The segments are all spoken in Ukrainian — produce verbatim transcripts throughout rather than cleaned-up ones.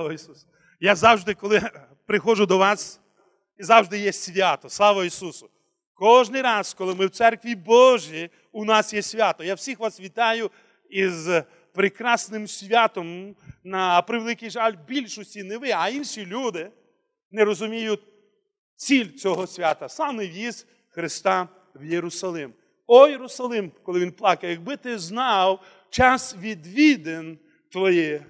Слава Ісусу! Я завжди, коли приходжу до вас, і завжди є свято. Слава Ісусу! Кожний раз, коли ми в церкві Божій, у нас є свято. Я всіх вас вітаю із прекрасним святом. На превеликий жаль, більшості не ви, а інші люди не розуміють ціль цього свята. Саме в'їзд Христа в Єрусалим. О, Єрусалим, коли він плакав, якби ти знав час відвідин твоїх,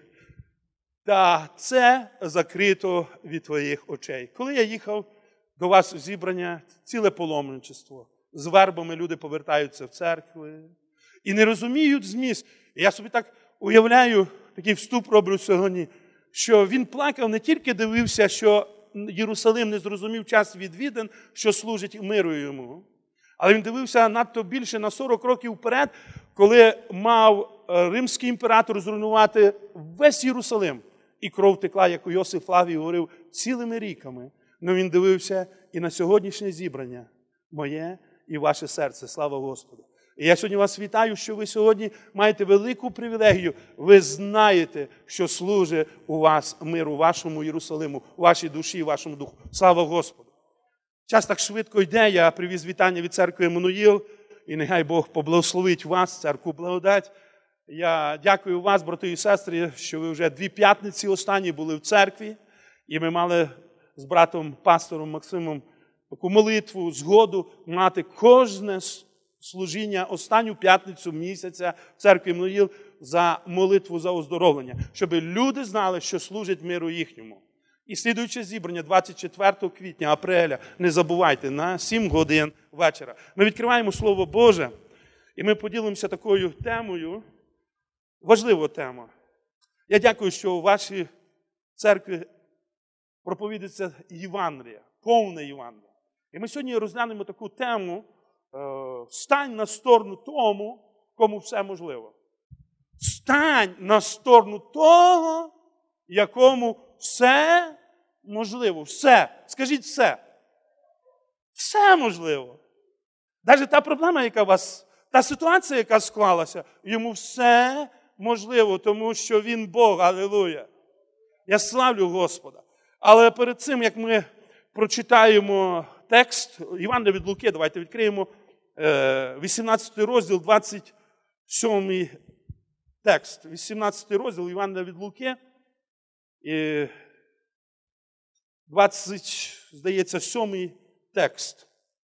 та це закрито від твоїх очей. Коли я їхав до вас у зібрання, ціле паломничество, з вербами люди повертаються в церкви і не розуміють зміст. І я собі так уявляю, такий вступ роблю сьогодні, що він плакав, не тільки дивився, що Єрусалим не зрозумів час відвідин, що служить миру йому, але він дивився надто більше на сорок років вперед, коли мав римський імператор зруйнувати весь Єрусалим. І кров текла, як у Йосиф Флавій говорив, цілими ріками. Но він дивився і на сьогоднішнє зібрання моє і ваше серце. Слава Господу! І я сьогодні вас вітаю, що ви сьогодні маєте велику привілегію. Ви знаєте, що служить у вас мир у вашому Єрусалиму, у вашій душі, у вашому духу. Слава Господу! Час так швидко йде. Я привіз вітання від церкви Еммануїл. І нехай Бог поблагословить вас, церкву благодать. Я дякую вас, брати і сестри, що ви вже дві п'ятниці останні були в церкві. І ми мали з братом пастором Максимом таку молитву, згоду мати кожне служіння останню п'ятницю місяця в церкві Еммануїл за молитву за оздоровлення. Щоб люди знали, що служить миру їхньому. І слідуюче зібрання двадцять четвертого квітня, апреля, не забувайте, на сім годин вечора. Ми відкриваємо Слово Боже, і ми поділимося такою темою, важлива тема. Я дякую, що у вашій церкві проповідується Євангелія, повне Євангелія. І ми сьогодні розглянемо таку тему «Стань на сторону тому, кому все можливо». Стань на сторону того, якому все можливо. Все. Скажіть все. Все можливо. Навіть та проблема, яка у вас, та ситуація, яка склалася, йому все можливо, тому що він Бог. Алілуя. Я славлю Господа. Але перед цим, як ми прочитаємо текст Євангелія від Луки, давайте відкриємо вісімнадцятий розділ, двадцять сьомий текст. вісімнадцятий розділ Євангелія від Луки. І двадцять, здається, сьомий текст.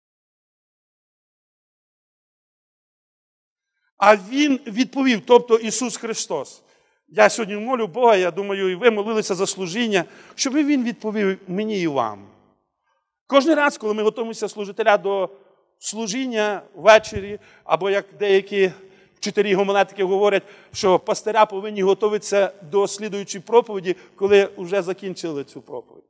А він відповів, тобто Ісус Христос. Я сьогодні молю Бога, я думаю, і ви молилися за служіння, щоб він відповів мені і вам. Кожен раз, коли ми готуємося служителя до служіння ввечері, або як деякі вчителі гомілетики говорять, що пастиря повинні готуватися до слідуючої проповіді, коли вже закінчили цю проповідь.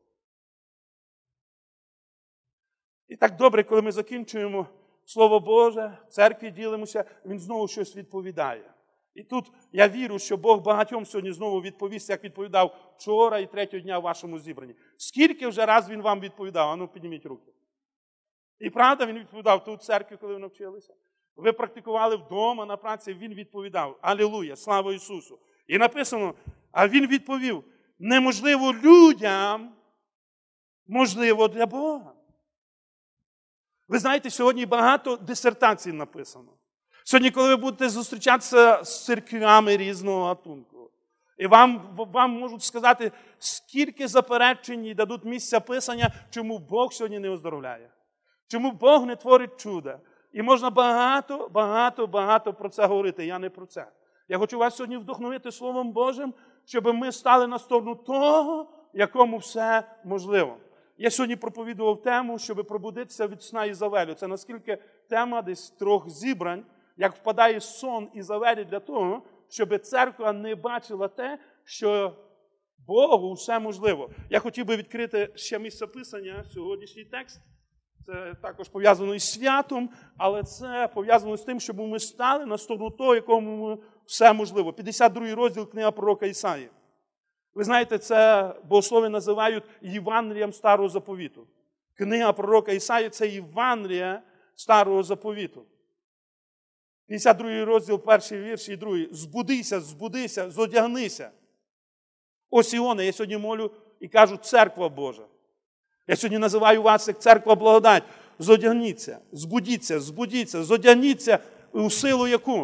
І так добре, коли ми закінчуємо Слово Боже, в церкві ділимося, він знову щось відповідає. І тут я вірю, що Бог багатьом сьогодні знову відповість, як відповідав вчора і третього дня в вашому зібранні. Скільки вже раз він вам відповідав? А ну, підніміть руки. І правда, він відповідав тут в церкві, коли ви навчилися. Ви практикували вдома, на праці, він відповідав. Алілуя, слава Ісусу. І написано, а він відповів, неможливо людям, можливо для Бога. Ви знаєте, сьогодні багато дисертацій написано. Сьогодні, коли ви будете зустрічатися з церквями різного гатунку, і вам, вам можуть сказати, скільки заперечень і дадуть місця писання, чому Бог сьогодні не оздоровляє. Чому Бог не творить чуда. І можна багато, багато, багато про це говорити. Я не про це. Я хочу вас сьогодні вдохновити Словом Божим, щоб ми стали на сторону того, якому все можливо. Я сьогодні проповідував тему, щоб пробудитися від сна Ізавелю. Це наскільки тема десь трьох зібрань, як впадає сон Ізавелі для того, щоб церква не бачила те, що Богу все можливо. Я хотів би відкрити ще місце писання, сьогоднішній текст. Це також пов'язано із святом, але це пов'язано з тим, щоб ми стали на сторону того, якому все можливо. п'ятдесят другий розділ книга пророка Ісаї. Ви знаєте, це богослови називають Євангелієм Старого Заповіту. Книга пророка Ісаї – це Євангелія Старого Заповіту. п'ятдесят другий розділ, перший вірш і другий. Збудися, збудися, зодягнися. Ось Іона, я сьогодні молю і кажу, церква Божа. Я сьогодні називаю вас як церква благодать. Зодягніться, збудіться, збудіться, зодягніться у силу яку?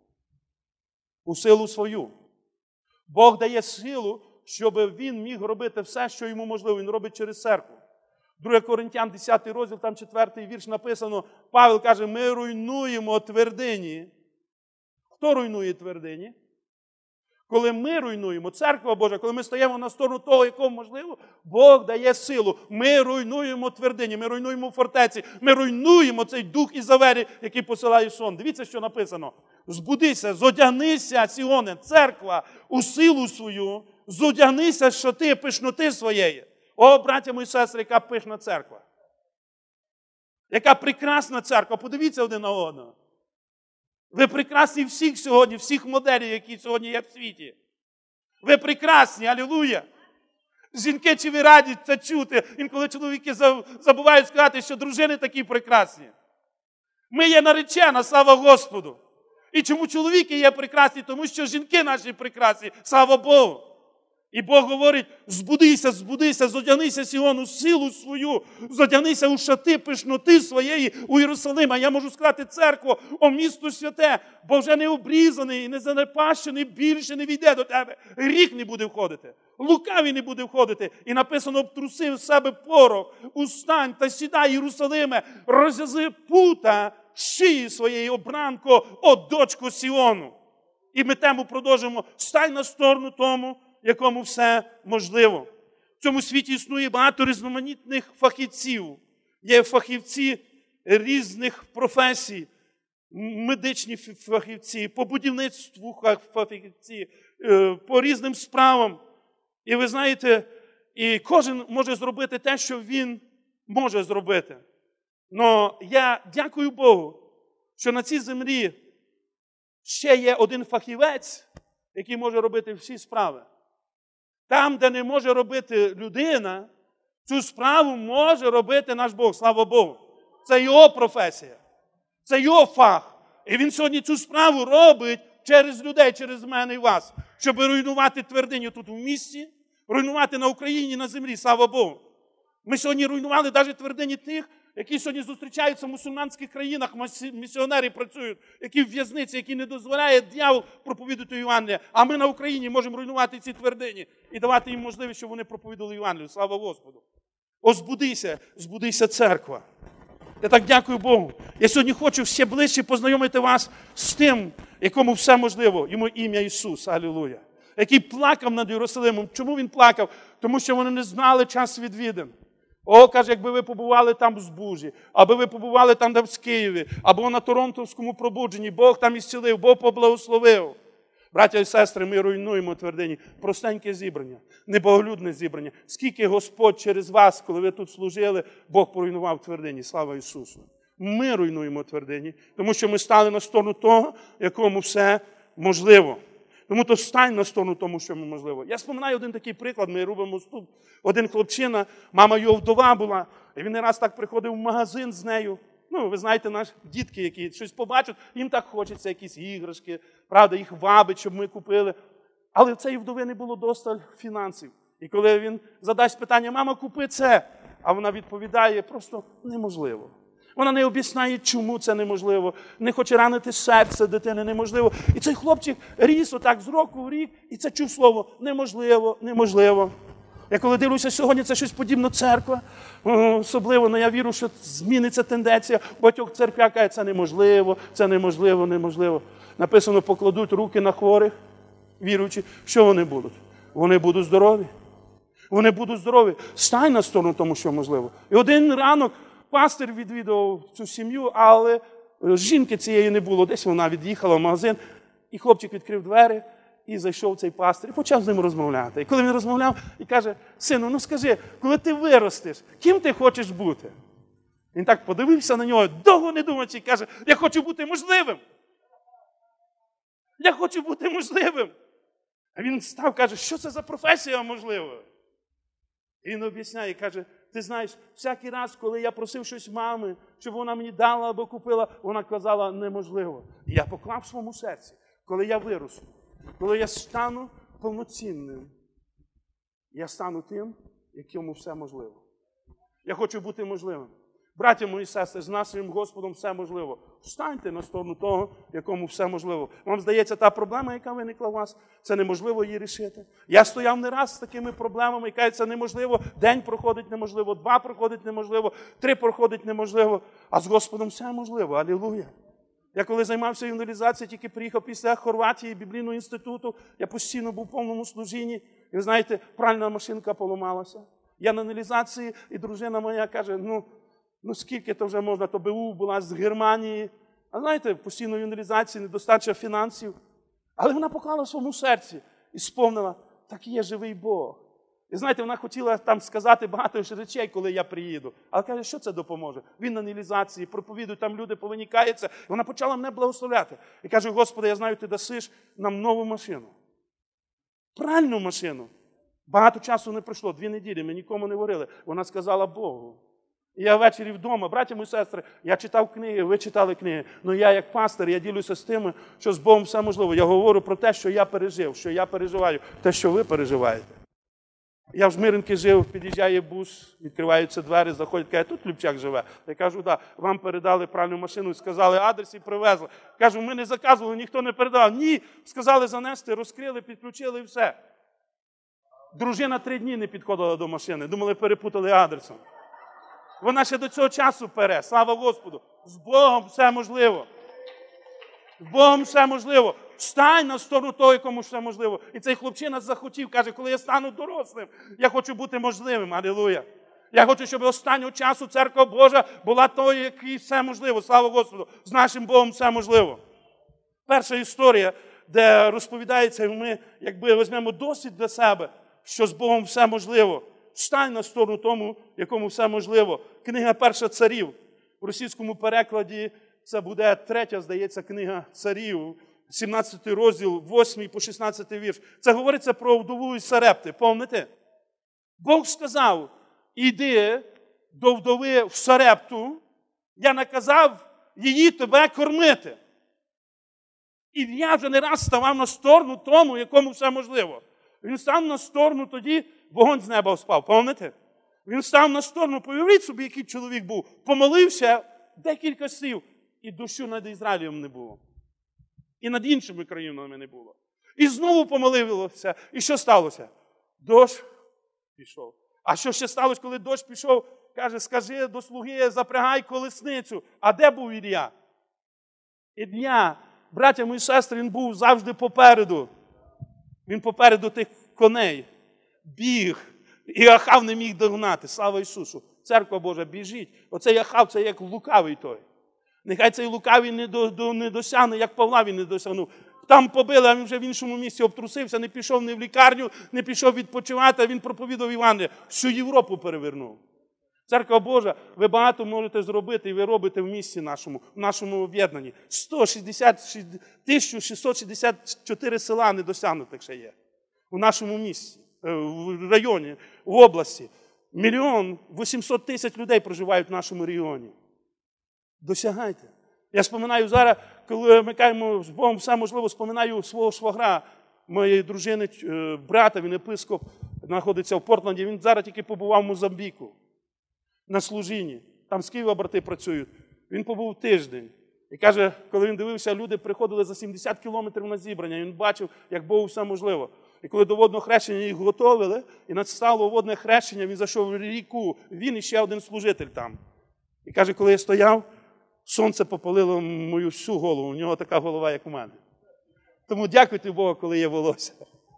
У силу свою. Бог дає силу, щоб він міг робити все, що йому можливо. Він робить через церкву. Друге Коринтян, десятий розділ, там четвертий вірш написано, Павел каже, ми руйнуємо твердині. Хто руйнує твердині? Коли ми руйнуємо, церква Божа, коли ми стаємо на сторону того, якому можливо, Бог дає силу. Ми руйнуємо твердині, ми руйнуємо фортеці, ми руйнуємо цей дух Ізавелі, який посилає сон. Дивіться, що написано. Збудися, зодягнися, Сіоне, церква, у силу свою, зодягнися, що ти пишноти своєї. О, браття мої сестри, яка пишна церква. Яка прекрасна церква. Подивіться один на одного. Ви прекрасні всіх сьогодні, всіх моделей, які сьогодні є в світі. Ви прекрасні, алілуя. Жінки, чи ви раді це чути? Інколи чоловіки забувають сказати, що дружини такі прекрасні. Ми є наречена, слава Господу. І чому чоловіки є прекрасні? Тому що жінки наші прекрасні, слава Богу. І Бог говорить, збудися, збудися, зодягнися, Сіон, у силу свою, зодягнися у шати пишноти своєї у Єрусалима. Я можу сказати, церкво, о місто святе, бо вже не обрізаний і не занепащений, більше не війде до тебе. Гріх не буде входити, лукавий не буде входити. І написано, обтрусив з себе порох, устань та сідай, Єрусалиме, розв'язи пута шиї своєї, обранко, о дочко Сіону. І ми тему продовжимо, стань на сторону тому, якому все можливо. В цьому світі існує багато різноманітних фахівців. Є фахівці різних професій, медичні фахівці, по будівництву фахівці, по різним справам. І ви знаєте, і кожен може зробити те, що він може зробити. Но я дякую Богу, що на цій землі ще є один фахівець, який може робити всі справи. Там, де не може робити людина, цю справу може робити наш Бог, слава Богу. Це його професія, це його фах. І він сьогодні цю справу робить через людей, через мене і вас, щоб руйнувати твердиню тут у місті, руйнувати на Україні, на землі, слава Богу. Ми сьогодні руйнували навіть твердині тих, які сьогодні зустрічаються в мусульманських країнах, місіонери працюють, які в в'язниці, які не дозволяє диявол проповідувати Євангелія. А ми на Україні можемо руйнувати ці твердині і давати їм можливість, щоб вони проповідували Євангелію. Слава Господу! О, збудися, збудися церква. Я так дякую Богу. Я сьогодні хочу ще ближче познайомити вас з тим, якому все можливо. Йому ім'я Ісус, алілуя. Який плакав над Єрусалимом. Чому він плакав? Тому що вони не знали час відвідин. О, каже, якби ви побували там в Збужі, аби ви побували там, де в Києві, або на Торонтовському пробудженні, Бог там ісцілив, Бог поблагословив. Браття і сестри, ми руйнуємо твердині. Простеньке зібрання, небоголюдне зібрання. Скільки Господь через вас, коли ви тут служили, Бог поруйнував твердині. Слава Ісусу. Ми руйнуємо твердині, тому що ми стали на сторону того, якому все можливо. Тому то стань на сторону тому, що можливо. Я споминаю один такий приклад, ми робимо тут. Один хлопчина, мама його вдова була, і він не раз так приходив в магазин з нею. Ну, ви знаєте, наші дітки, які щось побачать, їм так хочеться якісь іграшки, правда, їх вабить, щоб ми купили. Але в цієї вдови не було досталь фінансів. І коли він задасть питання, мама, купи це, а вона відповідає, просто неможливо. Вона не об'ясняє, чому це неможливо. Не хоче ранити серце дитини, неможливо. І цей хлопчик ріс отак з року в рік, і це чув слово неможливо, неможливо. Я коли дивлюся, сьогодні це щось подібно церква, особливо, але я вірю, що зміниться тенденція. Багатьох церквях кажуть, це неможливо, це неможливо, неможливо. Написано, покладуть руки на хворих, віруючи, що вони будуть? Вони будуть здорові. Вони будуть здорові. Стань на сторону тому, що можливо. І один ранок пастир відвідував цю сім'ю, але жінки цієї не було. Десь вона від'їхала в магазин, і хлопчик відкрив двері, і зайшов цей пастир, і почав з ним розмовляти. І коли він розмовляв, і каже, сину, ну скажи, коли ти виростеш, ким ти хочеш бути? Він так подивився на нього, довго не думаючи, і каже, я хочу бути можливим. Я хочу бути можливим. А він став, каже, що це за професія можлива? І він об'ясняє, каже, ти знаєш, всякий раз, коли я просив щось мами, щоб вона мені дала або купила, вона казала, неможливо. І я поклав в своєму серці, коли я виросту, коли я стану повноцінним, Я стану тим, якому все можливо. Я хочу бути можливим. Браття мої сестри, з нашим Господом все можливо. Встаньте на сторону того, якому все можливо. Вам здається, та проблема, яка виникла у вас, це неможливо її рішити. Я стояв не раз з такими проблемами, і кажуть, це неможливо. День проходить неможливо, два проходить неможливо, три проходить неможливо. А з Господом все можливо. Алілуя. Я коли займався евангелізацією, тільки приїхав після Хорватії, Біблійного інституту, я постійно був в повному служінні. І ви знаєте, пральна машинка поламалася. Я на аналізації, і дружина моя каже, ну, ну скільки то вже можна, то БУ була з Германії. А знаєте, постійної аналізації, недостача фінансів. Але вона поклала в своєму серці і сповнила, так є живий Бог. І знаєте, вона хотіла там сказати багато речей, коли я приїду. Але каже, що це допоможе? Він на аналізації, проповідує, там люди повинні каяться. І вона почала мене благословляти. І каже, Господи, я знаю, ти дасиш нам нову машину. Пральну машину. Багато часу не пройшло, дві неділі, ми нікому не говорили. Вона сказала Богу. І я ввечері вдома, браття мої сестри, я читав книги, ви читали книги. Ну я як пастор, я ділюся з тим, що з Богом все можливо. Я говорю про те, що я пережив, що я переживаю, те, що ви переживаєте. Я в Жмиринці жив, під'їжджає бус, відкриваються двері, заходять, каже, тут Любчак живе. Я кажу, так, да, вам передали пральну машину, сказали адрес і привезли. Кажу, ми не заказували, ніхто не передав. Ні, сказали занести, розкрили, підключили і все. Дружина три дні не підходила до машини, думали, перепутали адресом. Вона ще до цього часу пере, слава Господу. З Богом все можливо. З Богом все можливо. Встань на сторону того, якому все можливо. І цей хлопчина захотів, каже, коли я стану дорослим, я хочу бути можливим. Алілуя. Я хочу, щоб останнього часу Церква Божа була тою, якій все можливо. Слава Господу. З нашим Богом все можливо. Перша історія, де розповідається, і ми, якби візьмемо досвід для себе, що з Богом все можливо. Встань на сторону тому, якому все можливо. Книга «Перша царів». У російському перекладі це буде третя, здається, книга царів, сімнадцятий розділ, восьмий по шістнадцятий вірш. Це говориться про вдову із Сарепти, пам'ятаєте? Бог сказав, іди до вдови в Сарепту, я наказав її тебе кормити. І я вже не раз ставав на сторону тому, якому все можливо. Він став на сторону тоді, вогонь з неба впав, пам'ятаєте? Він став на сторону, повіріть собі, який чоловік був, помолився декілька слів, і дощу над Ізраїлем не було. І над іншими країнами не було. І знову помолився. І що сталося? Дощ пішов. А що ще сталося, коли дощ пішов? Каже, скажи до слуги, запрягай колесницю. А де був Ілля? Ілля, браття мої сестри, він був завжди попереду. Він попереду тих коней. Біг. І Ахав не міг догнати. Слава Ісусу. Церква Божа, біжіть. Оцей Ахав, це як лукавий той. Нехай цей лукавий не, до, до, не досягне, як Павла він не досягнув. Там побили, а він вже в іншому місці обтрусився, не пішов ні в лікарню, не пішов відпочивати, а він проповідав Євангеліє. Всю Європу перевернув. Церква Божа, ви багато можете зробити, і ви робите в місті нашому, в нашому об'єднанні. сто шістдесят, тисяча шістсот шістдесят чотири села недосягнутих ще є. У нашому місті, в районі, в області. Мільйон вісімсот тисяч людей проживають в нашому регіоні. Досягайте. Я споминаю зараз, коли ми кажемо, з Богом все можливо, споминаю свого швагра, моєї дружини, брата, він епископ, знаходиться в Портленді, він зараз тільки побував в Мозамбіку на служінні. Там з Києва брати працюють. Він побув тиждень. І каже, коли він дивився, люди приходили за сімдесят кілометрів на зібрання, він бачив, як Богу все можливо. І коли до водного хрещення їх готовили, і надстало водне хрещення, він зайшов в ріку, він і ще один служитель там. І каже, коли я стояв, сонце попалило мою всю голову, у нього така голова, як у мене. Тому дякуйте Богу, коли є волосся.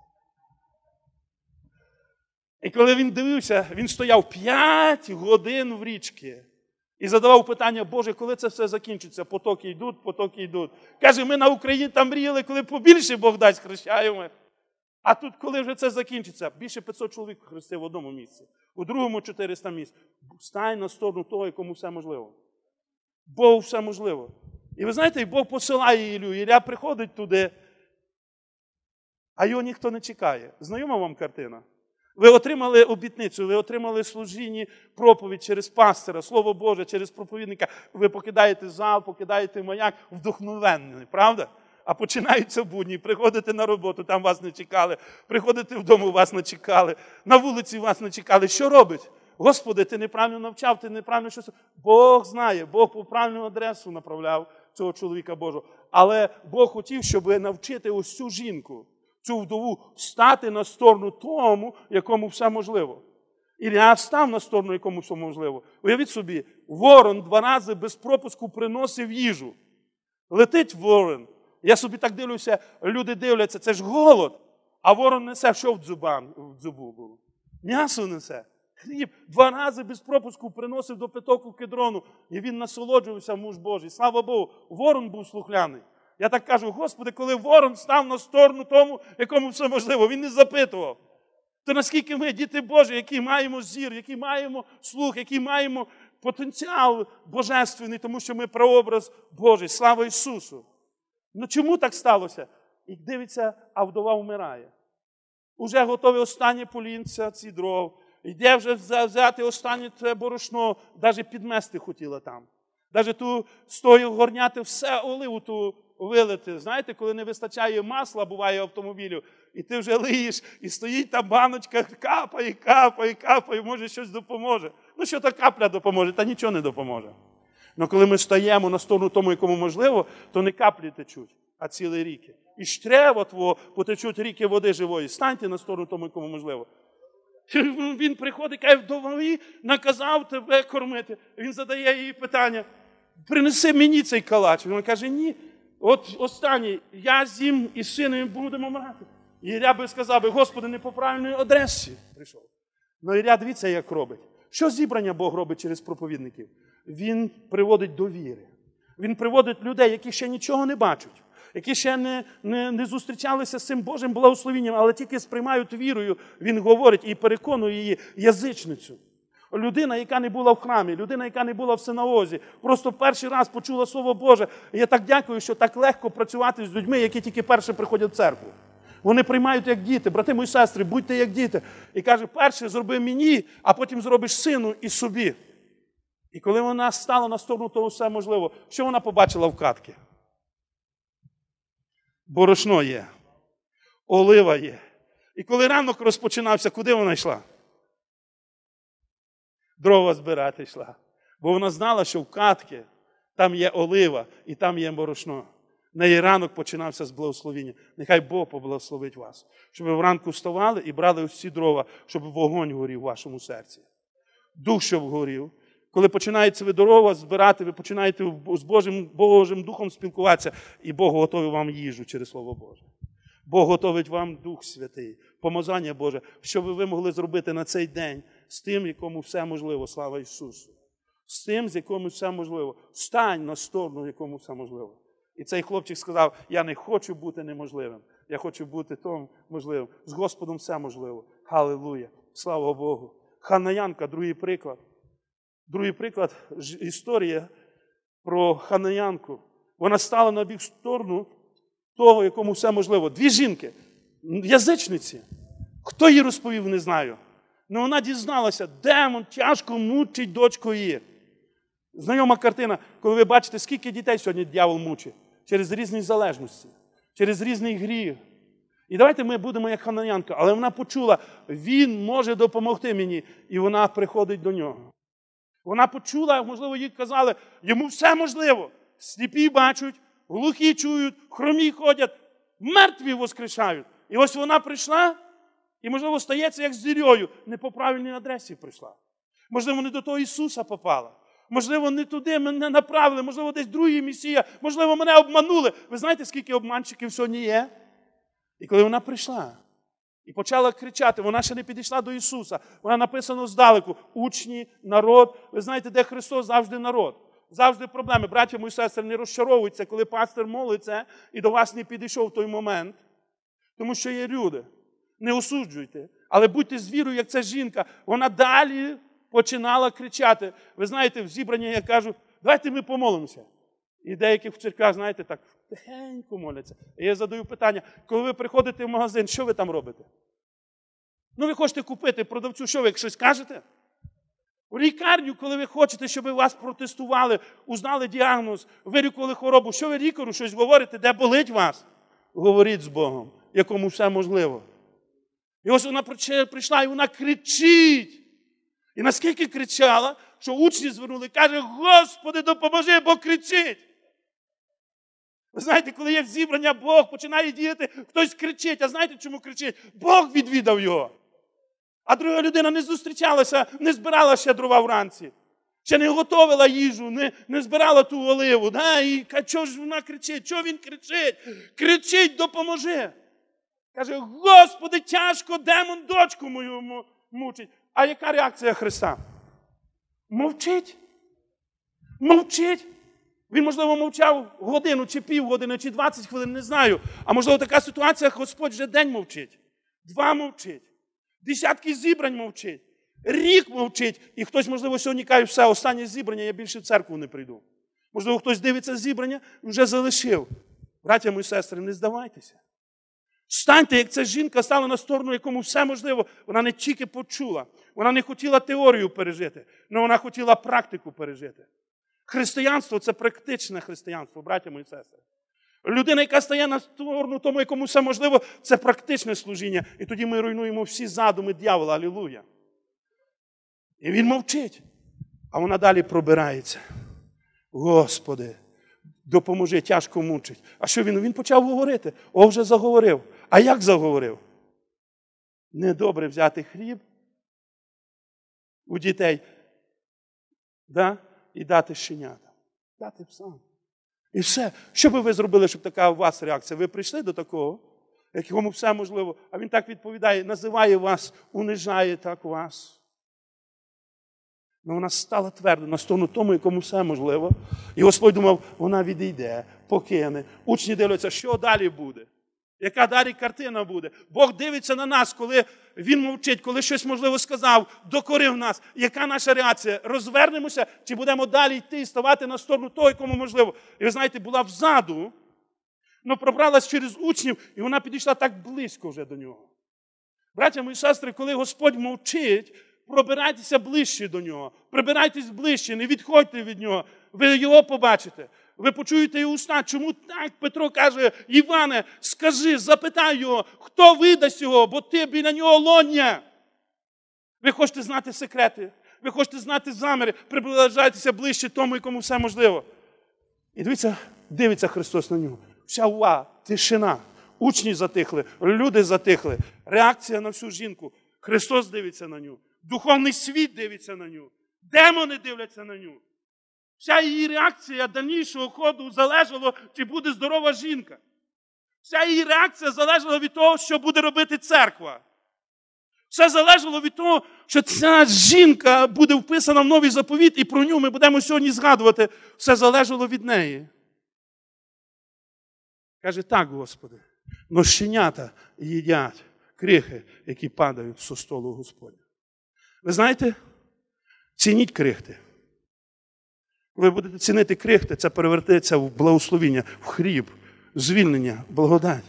І коли він дивився, він стояв п'ять годин в річці. І задавав питання, Боже, коли це все закінчиться? Потоки йдуть, потоки йдуть. Каже, ми на Україні там мріяли, коли побільше Бог дасть, хрещаємо. А тут, коли вже це закінчиться? Більше п'ятсот чоловік хрестив в одному місці. У другому чотириста місць. Стань на сторону того, якому все можливо. Богу все можливо. І ви знаєте, Бог посилає Іллю. Ілля приходить туди, а його ніхто не чекає. Знайома вам картина? Ви отримали обітницю, ви отримали служіння, проповідь через пастора, Слово Боже, через проповідника. Ви покидаєте зал, покидаєте маяк, вдохновенний, правда? А починаються будні, приходите на роботу, там вас не чекали, приходите вдома, вас не чекали, на вулиці вас не чекали. Що робить? Господи, ти неправильно навчав, ти неправильно щось. Бог знає, Бог по правильну адресу направляв цього чоловіка Божого. Але Бог хотів, щоб навчити ось цю жінку, цю вдову, стати на сторону тому, якому все можливо. Ілля став на сторону, якому все можливо. Уявіть собі, ворон два рази без пропуску приносив їжу. Летить ворон. Я собі так дивлюся, люди дивляться, це ж голод. А ворон несе, що в дзубам, в дзубу було? М'ясо несе. Хліб. Два рази без пропуску приносив до питоку Кедрону. І він насолоджувався, муж Божий. Слава Богу, ворон був слухляний. Я так кажу, Господи, коли ворон став на сторону тому, якому все можливо, він не запитував. То наскільки ми, діти Божі, які маємо зір, які маємо слух, які маємо потенціал божественний, тому що ми прообраз Божий. Слава Ісусу! Ну чому так сталося? І дивиться, а вдова вмирає. Уже готові останнє полінця, ці дров. Йде вже взяти останнє це борошно, навіть підмести хотіла там. Навіть ту стою горняти, все оливу ту вилити. Знаєте, коли не вистачає масла, буває автомобілю, і ти вже лиєш, і стоїть та баночка, капає, капає, капає, може щось допоможе. Ну що та капля допоможе? Та нічого не допоможе. Але коли ми стаємо на сторону тому, якому можливо, то не каплі течуть, а цілі ріки. І штрево твого потечуть ріки води живої. Станьте на сторону тому, якому можливо. Він приходить, каже, вдові наказав тебе кормити. Він задає їй питання, принеси мені цей калач. Він каже, ні, от останній, я з'їм і з сином будемо мрати. І Ілля би сказав, Господи, не по правильній адресі прийшов. Ну Ілля, дивіться, як робить. Що зібрання Бог робить через проповідників? Він приводить до віри. Він приводить людей, які ще нічого не бачать, які ще не, не, не зустрічалися з цим Божим благословенням, але тільки сприймають вірою, він говорить і переконує її язичницю. Людина, яка не була в храмі, людина, яка не була в синагозі, просто перший раз почула Слово Боже. І я так дякую, що так легко працювати з людьми, які тільки перше приходять в церкву. Вони приймають як діти, брати мої сестри, будьте як діти. І каже, перше зроби мені, а потім зробиш сину і собі. І коли вона стала на сторону того все можливо, що вона побачила в катки? Борошно є, олива є. І коли ранок розпочинався, куди вона йшла? Дрова збирати йшла. Бо вона знала, що в катки там є олива і там є борошно. В неї ранок починався з благословення. Нехай Бог поблагословить вас. Щоб ви вранку вставали і брали всі дрова, щоб вогонь горів в вашому серці. Дух, щоб горів. Коли починаєте ви дрова збирати, ви починаєте з Божим, Божим Духом спілкуватися, і Бог готовить вам їжу через Слово Боже. Бог готовить вам Дух Святий, помазання Боже, щоб ви могли зробити на цей день з тим, якому все можливо, слава Ісусу. З тим, з якому все можливо. Стань на сторону, якому все можливо. І цей хлопчик сказав, я не хочу бути неможливим, я хочу бути том можливим. З Господом все можливо. Халилуя! Слава Богу! Ханаянка, другий приклад. Другий приклад – історія про ханаянку. Вона стала на бік сторону того, якому все можливо. Дві жінки, язичниці. Хто їй розповів, не знаю. Але вона дізналася, демон тяжко мучить дочку її. Знайома картина, коли ви бачите, скільки дітей сьогодні дьявол мучить. Через різні залежності, через різний гріх. І давайте ми будемо як ханаянка. Але вона почула, він може допомогти мені. І вона приходить до нього. Вона почула, можливо, їй казали, йому все можливо. Сліпі бачать, глухі чують, хромі ходять, мертві воскрешають. І ось вона прийшла, і, можливо, стається як з зірьою. Не по правильній адресі прийшла. Можливо, не до того Ісуса попала. Можливо, не туди мене направили, можливо, десь другий Месія, можливо, мене обманули. Ви знаєте, скільки обманщиків сьогодні є? І коли вона прийшла і почала кричати, вона ще не підійшла до Ісуса. Вона написано здалеку, учні, народ. Ви знаєте, де Христос, завжди народ. Завжди проблеми. Браття мої сестри, не розчаровуються, коли пастир молиться і до вас не підійшов той момент. Тому що є люди. Не осуджуйте. Але будьте з вірою, як ця жінка. Вона далі починала кричати. Ви знаєте, в зібранні я кажу, давайте ми помолимося. І деяких в церквах, знаєте, так тихенько моляться. І я задаю питання, коли ви приходите в магазин, що ви там робите? Ну, ви хочете купити продавцю, що ви щось кажете? У лікарню, коли ви хочете, щоб вас протестували, узнали діагноз, вилікували хворобу, що ви лікарю щось говорите, де болить вас? Говоріть з Богом, якому все можливо. І ось вона прийшла, і вона кричить. І наскільки кричала, що учні звернули, каже, Господи, допоможи, бо кричить. Ви знаєте, коли є зібрання, Бог починає діяти, хтось кричить. А знаєте, чому кричить? Бог відвідав його. А друга людина не зустрічалася, не збирала ще дрова вранці. Ще не готовила їжу, не, не збирала ту оливу. Да? І чого ж вона кричить? Чого він кричить? Кричить, допоможи. Каже, Господи, тяжко, демон дочку мою мучить. А яка реакція Христа? Мовчить. Мовчить. Він, можливо, мовчав годину, чи півгодини, чи двадцять хвилин, не знаю. А можливо, така ситуація, Господь вже день мовчить. Два мовчить. Десятки зібрань мовчить. Рік мовчить. І хтось, можливо, сьогодні каже, все, останнє зібрання, я більше в церкву не прийду. Можливо, хтось дивиться зібрання, вже залишив. Браття мої сестри, не здавайтеся. Станьте, як ця жінка стала на сторону, якому все можливо. Вона не тільки почула. Вона не хотіла теорію пережити, але вона хотіла практику пережити. Християнство – це практичне християнство, браття мої сестри. Людина, яка стає на сторону тому, якому все можливо, це практичне служіння. І тоді ми руйнуємо всі задуми дьявола. Алілуя. І він мовчить. А вона далі пробирається. Господи, допоможи, тяжко мучить. А що він? Він почав говорити. О, вже заговорив. А як заговорив? Недобре взяти хліб у дітей, да? І дати щенятам. Дати псам. І все. Що би ви зробили, щоб така у вас реакція? Ви прийшли до такого, якому все можливо, а він так відповідає, називає вас, унижає так вас. Ну, вона стала твердо на сторону тому, якому все можливо. І Господь думав, вона відійде, покине. Учні дивляться, що далі буде. Яка далі картина буде. Бог дивиться на нас, коли Він мовчить, коли щось, можливо, сказав, докорив нас. Яка наша реакція? Розвернемося, чи будемо далі йти і ставати на сторону того, якому можливо? І ви знаєте, була взаду, але пробралась через учнів, і вона підійшла так близько вже до нього. Браття мої сестри, коли Господь мовчить, пробирайтеся ближче до нього. Прибирайтесь ближче, не відходьте від нього. Ви його побачите. Ви почуєте його уста. Чому так? Петро каже, Іване, скажи, запитай його, хто видасть його, бо ти біля нього лоня. Ви хочете знати секрети, ви хочете знати заміри, приближайтеся ближче тому, якому все можливо. І дивіться, дивиться Христос на нього. Вся увага, тишина. Учні затихли, люди затихли. Реакція на всю жінку. Христос дивиться на нього. Духовний світ дивиться на нього. Демони дивляться на нього. Вся її реакція дальнішого ходу залежала, чи буде здорова жінка. Вся її реакція залежала від того, що буде робити церква. Все залежало від того, що ця жінка буде вписана в новий заповіт, і про нього ми будемо сьогодні згадувати. Все залежало від неї. Каже, так, Господи, но щенята їдять крихи, які падають зі столу Господня. Ви знаєте, цініть крихти. Коли ви будете цінити крихти, це перевертається в благословіння, в хліб, звільнення, благодать.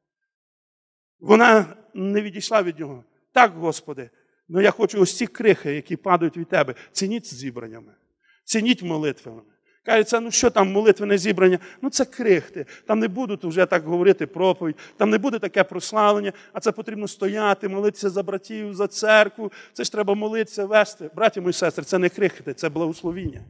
Вона не відійшла від нього. Так, Господи, але я хочу ось ці крихи, які падають від Тебе, цініть зібраннями, цініть молитвами. Кажеться, ну що там молитвене зібрання? Ну це крихти. Там не будуть вже так говорити проповідь, там не буде таке прославлення, а це потрібно стояти, молитися за братів, за церкву. Це ж треба молитися, вести. Браті мої сестри, це не крихти, це благословіння.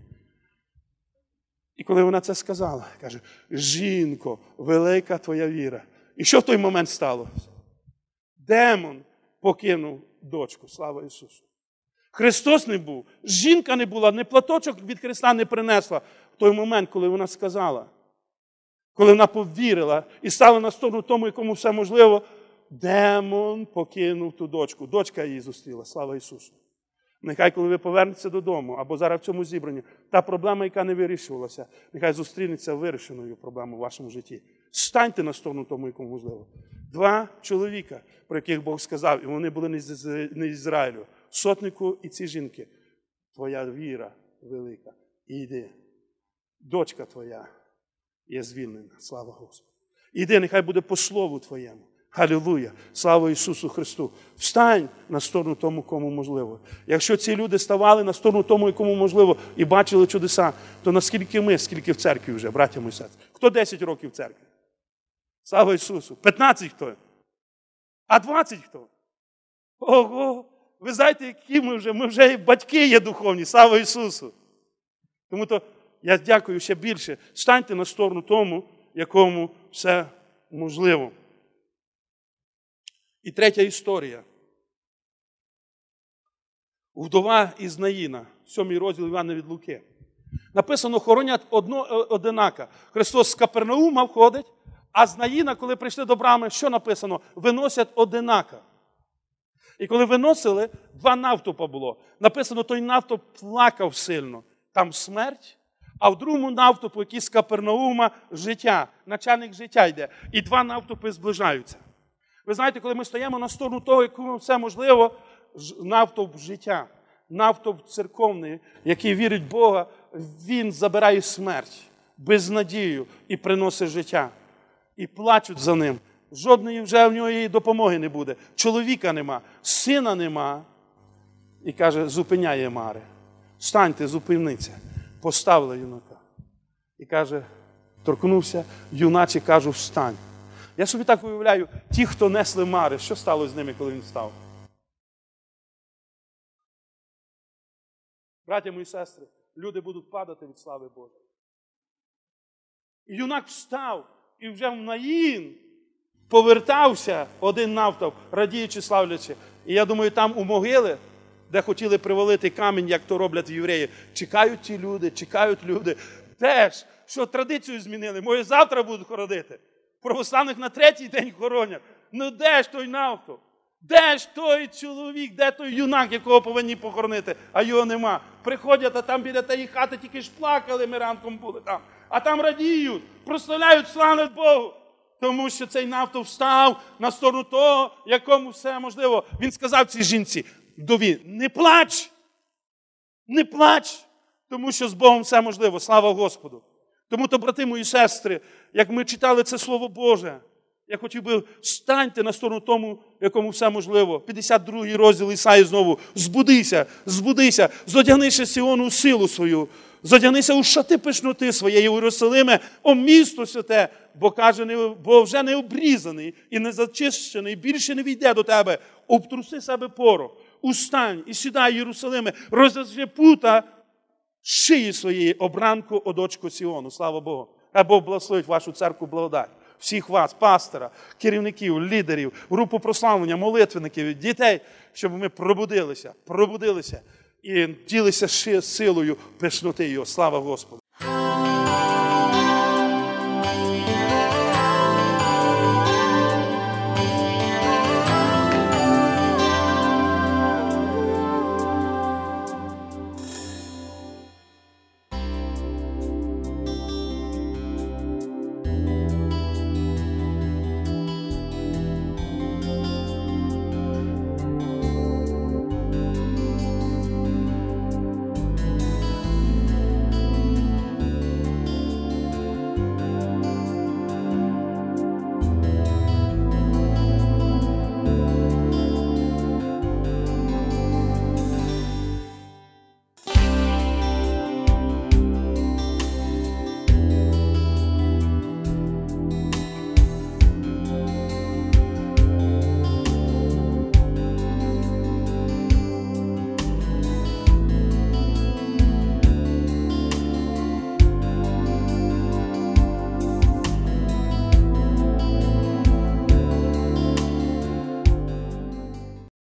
І коли вона це сказала, каже, жінко, велика твоя віра. І що в той момент сталося? Демон покинув дочку, слава Ісусу. Христос не був, жінка не була, ні платочок від Христа не принесла в той момент, коли вона сказала. Коли вона повірила і стала на сторону тому, якому все можливо, демон покинув ту дочку. Дочка її зустріла, слава Ісусу. Нехай, коли ви повернетеся додому, або зараз в цьому зібранні, та проблема, яка не вирішувалася, нехай зустрінеться вирішеною проблемою в вашому житті. Станьте на сторону тому, якому можливо. Два чоловіка, про яких Бог сказав, і вони були не Ізраїлю, сотнику і ці жінки. Твоя віра велика. Іди. Дочка твоя є звільнена. Слава Господу. Іди, нехай буде по слову твоєму. Халілуя! Слава Ісусу Христу! Встань на сторону тому, кому можливо. Якщо ці люди ставали на сторону тому, кому можливо, і бачили чудеса, то наскільки ми, скільки в церкві вже, браття мої сестри? Хто десять років в церкві? Слава Ісусу! п'ятнадцять хто? А двадцять хто? Ого! Ви знаєте, які ми вже? Ми вже батьки є духовні. Слава Ісусу! Тому то я дякую ще більше. Станьте на сторону тому, якому все можливо. І третя історія. Вдова із Наїна, сьомий розділ Івана від Луки. Написано, хоронять одно одинака. Христос з Капернаума входить, а з Наїна, коли прийшли до брами, що написано? Виносять одинака. І коли виносили, два навтопа було. Написано, той навтоп плакав сильно. Там смерть, а в другому навтопу, який з Капернаума, життя. Начальник життя йде. І два навтопи зближаються. Ви знаєте, коли ми стоїмо на сторону того, якому все можливо, навтоп життя, навтоп церковний, який вірить в Бога, він забирає смерть, безнадію і приносить життя. І плачуть за ним. Жодної вже в нього допомоги не буде. Чоловіка нема, сина нема. І каже, зупиняє Мари. Станьте, зупиніться. Поставила юнака. І каже, торкнувся, юначе кажу, встань. Я собі так уявляю, ті, хто несли Мари, що стало з ними, коли він встав? Браття мої сестри, люди будуть падати від слави Божої. І юнак встав, і вже в Наїн повертався один навтоп, радіючи, славлячи. І я думаю, там у могили, де хотіли привалити камінь, як то роблять євреї, чекають ті люди, чекають люди. Теж, що традицію змінили, може завтра будуть хоронити. Православних на третій день хоронять. Ну де ж той навтоп? Де ж той чоловік, де той юнак, якого повинні похоронити, а його нема. Приходять, а там біля тієї хати тільки ж плакали, ми ранком були там. А там радіють, прославляють, славлять Богу. Тому що цей навтоп встав на сторону того, якому все можливо. Він сказав цій жінці, вдові, не плач, не плач, тому що з Богом все можливо. Слава Господу. Тому то, брати мої сестри, як ми читали це Слово Боже, я хотів би, станьте на сторону тому, якому все можливо. п'ятдесят другий розділ Ісаї знову. Збудися, збудися, зодягнися Сіону силу свою, зодягнися у шати пишноти своєї, Єрусалиме, о місто святе, бо, каже, бо вже не обрізаний і не зачищений, більше не війде до тебе. Обтруси себе порох, устань і сідай, Єрусалиме, розв'яжи пута шиї своєї, обранку о дочку Сіону. Слава Богу. А Бог благословить вашу церкву благодать. Всіх вас, пастора, керівників, лідерів, групу прославлення, молитвенників, дітей, щоб ми пробудилися, пробудилися і ділися силою пишноти його. Слава Господу.